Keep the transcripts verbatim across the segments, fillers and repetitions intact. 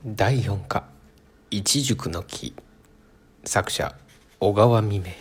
だいよん課一塾の木。作者小川未明。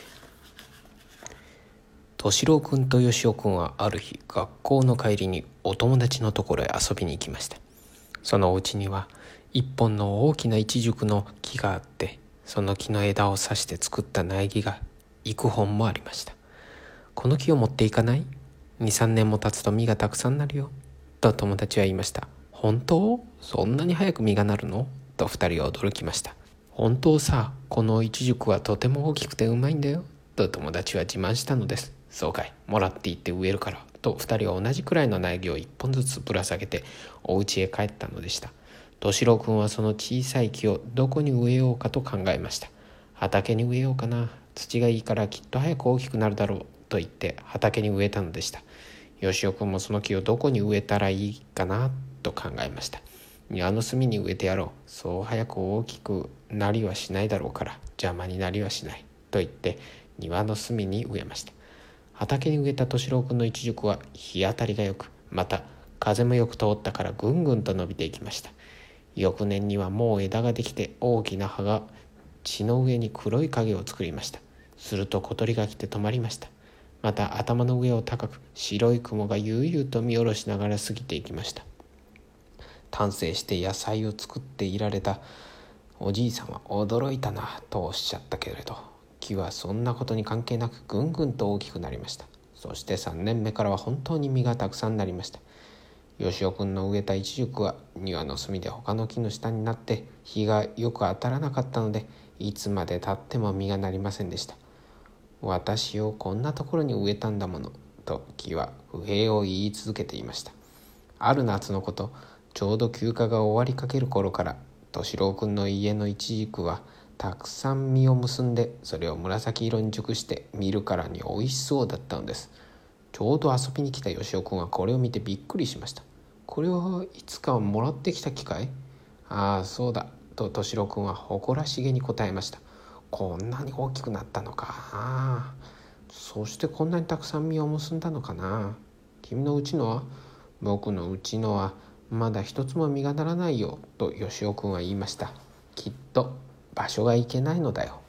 敏郎くんとよしおくんはある日、学校の帰りにお友達のところへ遊びに行きました。そのお家には一本の大きな一塾の木があって、その木の枝を刺して作った苗木が幾本もありました。この木を持っていかない？ にさん 年も経つと実がたくさんなるよ、と友達は言いました。本当？そんなに早く実がなるの？と二人は驚きました。本当さ、この一塾はとても大きくてうまいんだよ、と友達は自慢したのです。そうかい、もらっていって植えるから、と二人は同じくらいの苗木を一本ずつぶら下げてお家へ帰ったのでした。敏郎くんはその小さい木をどこに植えようかと考えました。畑に植えようかな、土がいいからきっと早く大きくなるだろう、と言って畑に植えたのでした。よしおくんもその木をどこに植えたらいいかなと考えました。庭の隅に植えてやろう。そう早く大きくなりはしないだろうから邪魔になりはしない、と言って庭の隅に植えました。畑に植えた敏郎くんの一塾は日当たりがよく、また風もよく通ったからぐんぐんと伸びていきました。翌年にはもう枝ができて大きな葉が地の上に黒い影を作りました。すると小鳥が来て止まりました。また頭の上を高く白い雲が悠々と見下ろしながら過ぎていきました。丹精して野菜を作っていられたおじいさんは驚いたなとおっしゃったけれど、木はそんなことに関係なくぐんぐんと大きくなりました。そしてさんねんめからは本当に実がたくさんなりました。よしおくんの植えた一塾は庭の隅で他の木の下になって日がよく当たらなかったので、いつまでたっても実がなりませんでした。私をこんなところに植えたんだもの、と木は不平を言い続けていました。ある夏のこと、ちょうど休暇が終わりかける頃から敏郎くんの家の一軸はたくさん実を結んで、それを紫色に熟して見るからにおいしそうだったのです。ちょうど遊びに来たよしおくんはこれを見てびっくりしました。これはいつかもらってきた木かい？ああ、そうだ、と敏郎くんは誇らしげに答えました。こんなに大きくなったのか。ああ、そしてこんなにたくさん実を結んだのかな。君のうちのは？僕のうちのはまだ一つも実がならないよ、とよしおくんは言いました。きっと場所がいけないのだよ。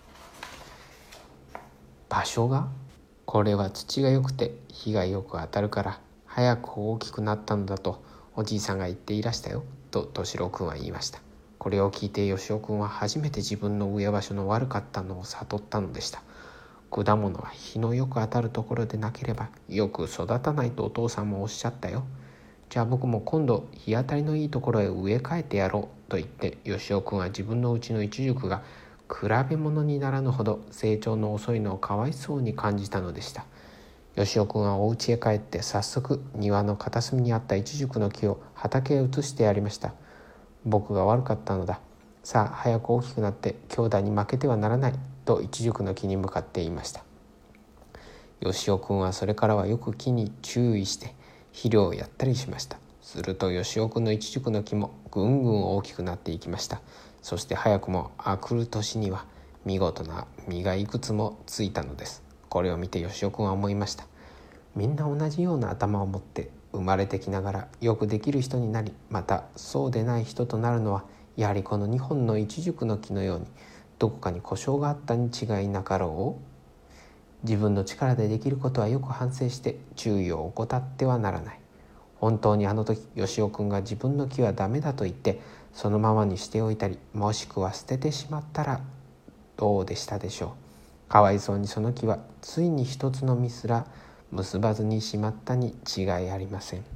場所が？これは土が良くて日がよく当たるから早く大きくなったのだとおじいさんが言っていらしたよ、と敏郎くんは言いました。これを聞いてよしおくんは初めて自分の植え場所の悪かったのを悟ったのでした。果物は日のよく当たるところでなければよく育たないとお父さんもおっしゃったよ。じゃあ僕も今度日当たりのいいところへ植え替えてやろう、と言ってよしおくんは自分のうちの一塾が比べ物にならぬほど成長の遅いのをかわいそうに感じたのでした。よしおくんはお家へ帰って早速庭の片隅にあった一塾の木を畑へ移してやりました。僕が悪かったのだ。さあ早く大きくなって兄弟に負けてはならない、と一塾の木に向かって言いました。よしおくんはそれからはよく木に注意して肥料をやったりしました。するとよしおくんの一塾の木もぐんぐん大きくなっていきました。そして早くもあくる年には見事な実がいくつもついたのです。これを見てよしおくんは思いました。みんな同じような頭を持って生まれてきながらよくできる人になり、またそうでない人となるのはやはりこのにほんの一塾の木のようにどこかに故障があったに違いなかろう。自分の力でできることはよく反省して注意を怠ってはならない。本当にあの時よしおくんが自分の木はダメだと言ってそのままにしておいたり、もしくは捨ててしまったらどうでしたでしょう。かわいそうにその木はついに一つの実すら結ばずにしまったに違いありません。